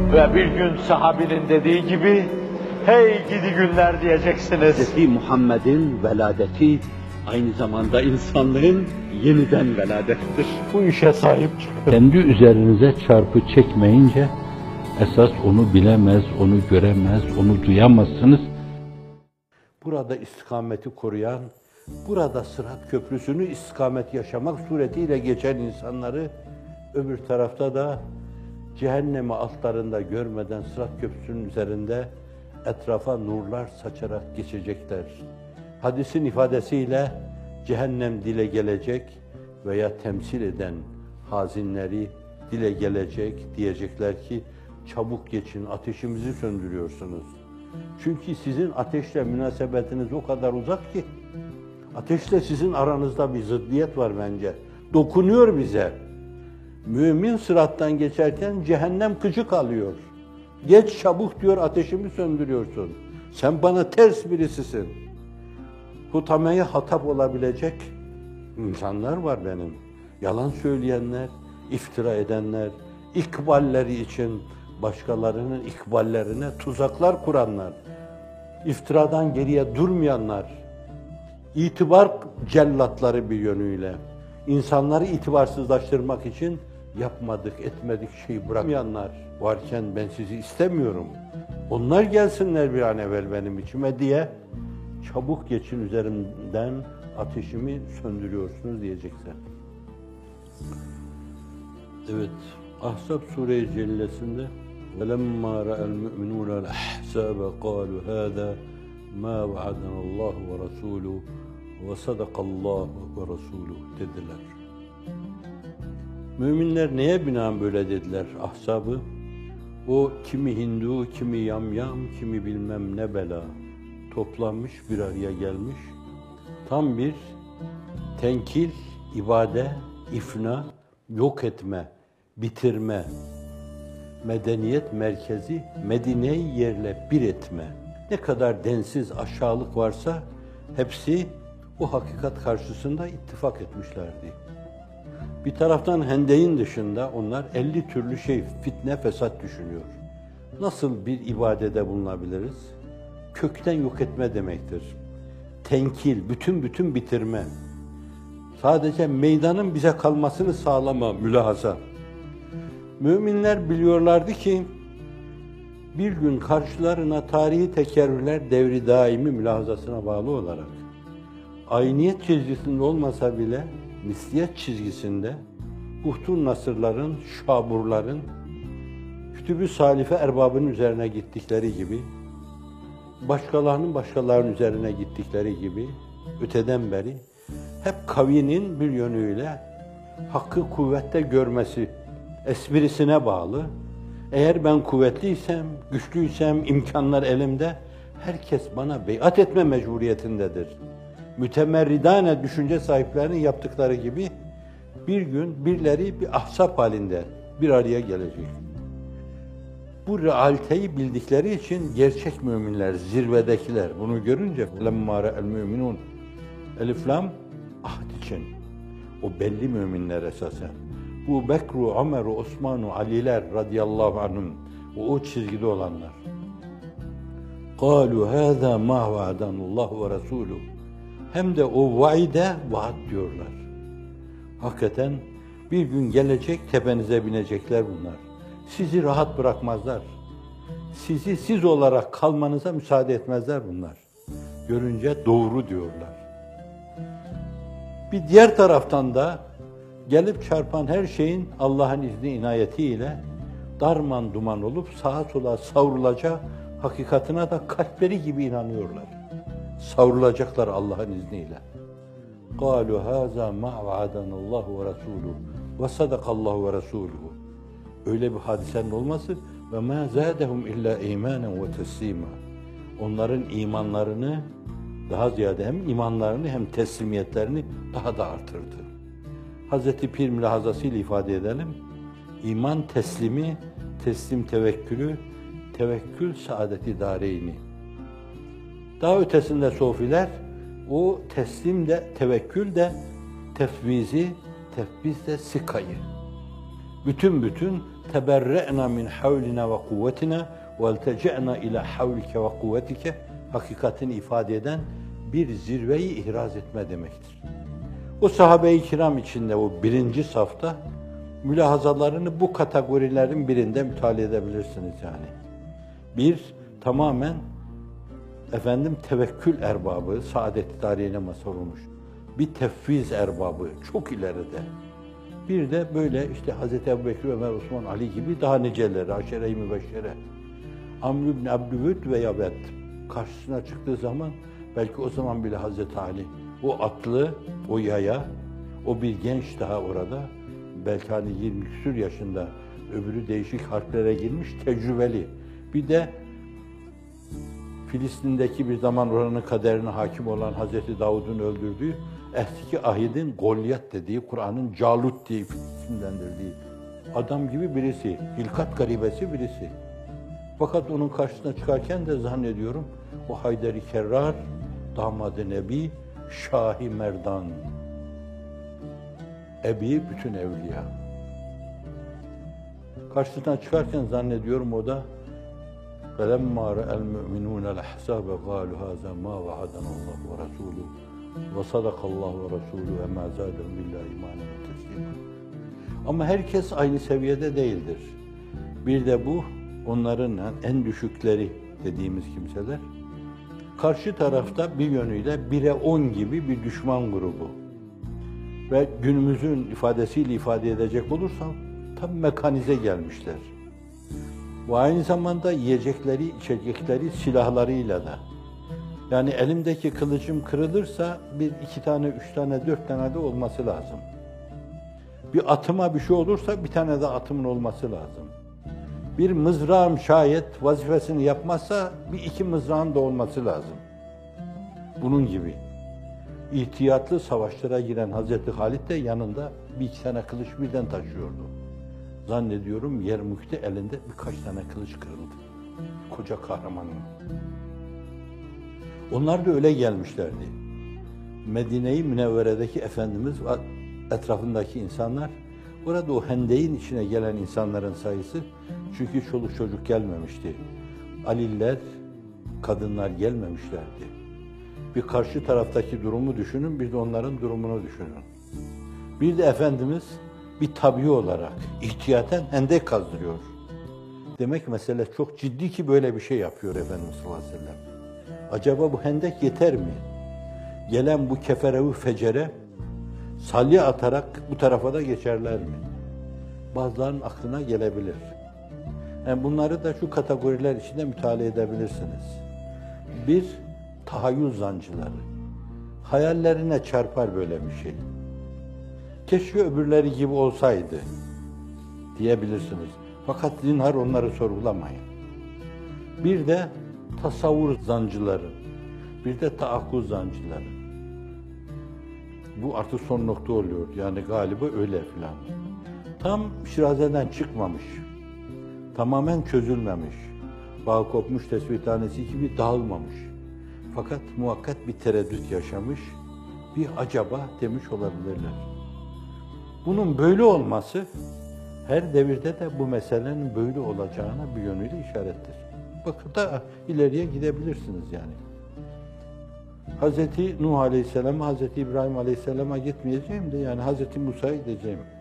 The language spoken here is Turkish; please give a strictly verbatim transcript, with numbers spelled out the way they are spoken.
Ve bir gün sahabinin dediği gibi, hey gidi günler diyeceksiniz. Hz. Muhammed'in veladeti aynı zamanda insanlığın yeniden veladettir. Bu işe sahip çıkın. Kendi üzerinize çarpı çekmeyince, esas onu bilemez, onu göremez, onu duyamazsınız. Burada istikameti koruyan, burada Sırat Köprüsü'nü istikamet yaşamak suretiyle geçen insanları, öbür tarafta da cehennemi altlarında görmeden Sırat Köprüsü'nün üzerinde etrafa nurlar saçarak geçecekler. Hadisin ifadesiyle cehennem dile gelecek veya temsil eden hazinleri dile gelecek, diyecekler ki çabuk geçin, ateşimizi söndürüyorsunuz. Çünkü sizin ateşle münasebetiniz o kadar uzak ki, ateşle sizin aranızda bir zıddiyet var bence. Dokunuyor bize. Mümin sırattan geçerken cehennem gıcık alıyor. Geç çabuk diyor, ateşimi söndürüyorsun. Sen bana ters birisisin. Hutameye hatap olabilecek insanlar var benim. Yalan söyleyenler, iftira edenler, ikballeri için başkalarının ikballerine tuzaklar kuranlar, iftiradan geriye durmayanlar, itibar cellatları bir yönüyle, insanları itibarsızlaştırmak için yapmadık, etmedik şeyi bırakmayanlar varken ben sizi istemiyorum. Onlar gelsinler bir an evvel benim içime diye çabuk geçin üzerimden, ateşimi söndürüyorsunuz diyecekler. Evet, Ahzab Sure-i Cellesi'nde وَلَمَّا رَأَى الْمُؤْمِنُونَ الْأَحْزَابَ قَالُوا هَذَا مَا وَعَدَنَا اللّٰهُ وَرَسُولُهُ وَصَدَقَ اللّٰهُ وَرَسُولُهُ dediler. Müminler neye binaen böyle dediler Ahzab'ı? O kimi Hindu, kimi yamyam, kimi bilmem ne bela toplanmış, bir araya gelmiş. Tam bir tenkil, ibade, ifna, yok etme, bitirme, medeniyet merkezi Medine'yi yerle bir etme. Ne kadar densiz aşağılık varsa hepsi o hakikat karşısında ittifak etmişlerdi. Bir taraftan Hendek'in dışında onlar elli türlü şey, fitne, fesat düşünüyor. Nasıl bir ibadede bulunabiliriz? Kökten yok etme demektir. Tenkil, bütün bütün bitirme. Sadece meydanın bize kalmasını sağlama, mülahaza. Müminler biliyorlardı ki bir gün karşılarına tarihi tekerrürler devri daimi mülahazasına bağlı olarak ayniyet çizgisinde olmasa bile misliyet çizgisinde Buhtun Nasırların, Şaburların, Kütüb-ü Salife erbabının üzerine gittikleri gibi, başkalarının başkalarının üzerine gittikleri gibi öteden beri hep kavinin bir yönüyle hakkı kuvvette görmesi esprisine bağlı. Eğer ben kuvvetliysem, güçlüysem, imkanlar elimde, herkes bana beyat etme mecburiyetindedir. Mütemerridane düşünce sahiplerinin yaptıkları gibi bir gün birileri bir ahzap halinde bir araya gelecek. Bu realiteyi bildikleri için gerçek müminler, zirvedekiler bunu görünce لَمَّا رَأَى الْمُؤْمِنُونَ Elif lam ahd için. O belli müminler esasen. Bu Bekru, Ömer'u, Osman'u, Aliler radıyallahu anhum, o, o çizgide olanlar. قَالُوا هَذَا مَا وَعَدَنُ اللّٰهُ وَرَسُولُهُ Hem de o vaide vaat diyorlar. Hakikaten bir gün gelecek, tepenize binecekler bunlar. Sizi rahat bırakmazlar. Sizi siz olarak kalmanıza müsaade etmezler bunlar. Görünce doğru diyorlar. Bir diğer taraftan da gelip çarpan her şeyin Allah'ın izni inayetiyle darman duman olup sağa sola savrulacağı hakikatine de kalpleri gibi inanıyorlar. Savrulacaklar Allah'ın izniyle. قَالُوا هَذَا مَا وَعَدَنَ اللّٰهُ وَرَسُولُهُ وَصَدَقَ اللّٰهُ وَرَسُولُهُ Öyle bir hadisenin olması ve مَا زَادَهُمْ اِلَّا اِيمَانًا وَتَسْلِيمًا Onların imanlarını daha ziyade hem imanlarını hem teslimiyetlerini daha da artırdı. Hazreti Pir mülahazasıyla ifade edelim. İman teslimi, teslim tevekkülü, tevekkül saadeti dareyni. Daha ötesinde sofiler, o teslim de, tevekkül de, tefvizi, tefviz de sikayı. Bütün bütün teberre'na min havlina ve kuvvetina ve eltece'na ila havlike ve kuvvetike hakikatini ifade eden bir zirveyi ihraz etme demektir. O sahabe-i kiram içinde o birinci safta mülahazalarını bu kategorilerin birinde mütalaa edebilirsiniz yani. Bir, tamamen efendim tevekkül erbabı, saadet-i tarihine mazhar olmuş. Bir tefviz erbabı, çok ileride. Bir de böyle işte Hazreti Ebubekir, Ömer, Osman, Ali gibi daha niceleri, aşere-i mübeşşere. Amr ibn Abdüvüd ve Yabed karşısına çıktığı zaman belki o zaman bile Hazreti Ali, o atlı, o yaya, o bir genç daha orada, belki hani yirmi küsur yaşında, öbürü değişik harplere girmiş, tecrübeli. Bir de Filistin'deki bir zaman oranın kaderine hakim olan Hazreti Davud'un öldürdüğü eski ahidin Golyat dediği, Kur'an'ın Calut diye isimlendirdiği adam gibi birisi, hilkat garibesi birisi. Fakat onun karşısına çıkarken de zannediyorum o Haydar-ı Kerrar, damadı Nebi, Şah-ı Merdan, Ebi bütün evliya. Karşısına çıkarken zannediyorum o da فَلَمَّا رَأَى الْمُؤْمِنُونَ الْأَحْزَابَ قَالُوا هَذَا مَا وَعَدَنَا اللّٰهُ وَرَسُولُهُ وَصَدَقَ اللّٰهُ وَرَسُولُهُ وَمَا زَادَهُمْ إِلَّا إِيمَانًا وَتَسْلِيمًا. Ama herkes aynı seviyede değildir. Bir de bu, onların en düşükleri dediğimiz kimseler, karşı tarafta bir yönüyle bire on gibi bir düşman grubu. Ve günümüzün ifadesiyle ifade edecek olursam, tam mekanize gelmişler. Ve aynı zamanda yiyecekleri, içecekleri, silahlarıyla da. Yani elimdeki kılıcım kırılırsa bir iki tane, üç tane, dört tane de olması lazım. Bir atıma bir şey olursa bir tane de atımın olması lazım. Bir mızrağım şayet vazifesini yapmazsa bir iki mızrağın da olması lazım. Bunun gibi. İhtiyatlı savaşlara giren Hazreti Halid de yanında bir iki tane kılıç birden taşıyordu. Zannediyorum Yermük'te elinde birkaç tane kılıç kırıldı. Koca kahramanın. Onlar da öyle gelmişlerdi. Medine-i Münevvere'deki Efendimiz ve etrafındaki insanlar, orada o hendeyin içine gelen insanların sayısı, çünkü çoluk çocuk gelmemişti. Aliler, kadınlar gelmemişlerdi. Bir karşı taraftaki durumu düşünün, bir de onların durumunu düşünün. Bir de Efendimiz bir tabii olarak ihtiyaten hendek kazdırıyor. Demek mesele çok ciddi ki böyle bir şey yapıyor Efendimiz sallallahu aleyhi ve sellem. Acaba bu hendek yeter mi? Gelen bu kefere-ü fecere salya atarak bu tarafa da geçerler mi? Bazılarının aklına gelebilir. Yani bunları da şu kategoriler içinde mütalaa edebilirsiniz. Bir, tahayyül zancıları. Hayallerine çarpar böyle bir şey. Keşke öbürleri gibi olsaydı diyebilirsiniz. Fakat zinhar onları sorgulamayın. Bir de tasavvur zancıları, bir de taakkuz zancıları. Bu artık son nokta oluyor. Yani galiba öyle filan. Tam şirazeden çıkmamış, tamamen çözülmemiş, bağ kopmuş tesbih tanesi gibi dağılmamış. Fakat muhakkak bir tereddüt yaşamış, bir acaba demiş olabilirler. Bunun böyle olması, her devirde de bu meselenin böyle olacağına bir yönüyle işarettir. Bakın da ileriye gidebilirsiniz yani. Hazreti Nuh Aleyhisselam, Hazreti İbrahim Aleyhisselam'a gitmeyeceğim de yani Hazreti Musa'ya gideceğim.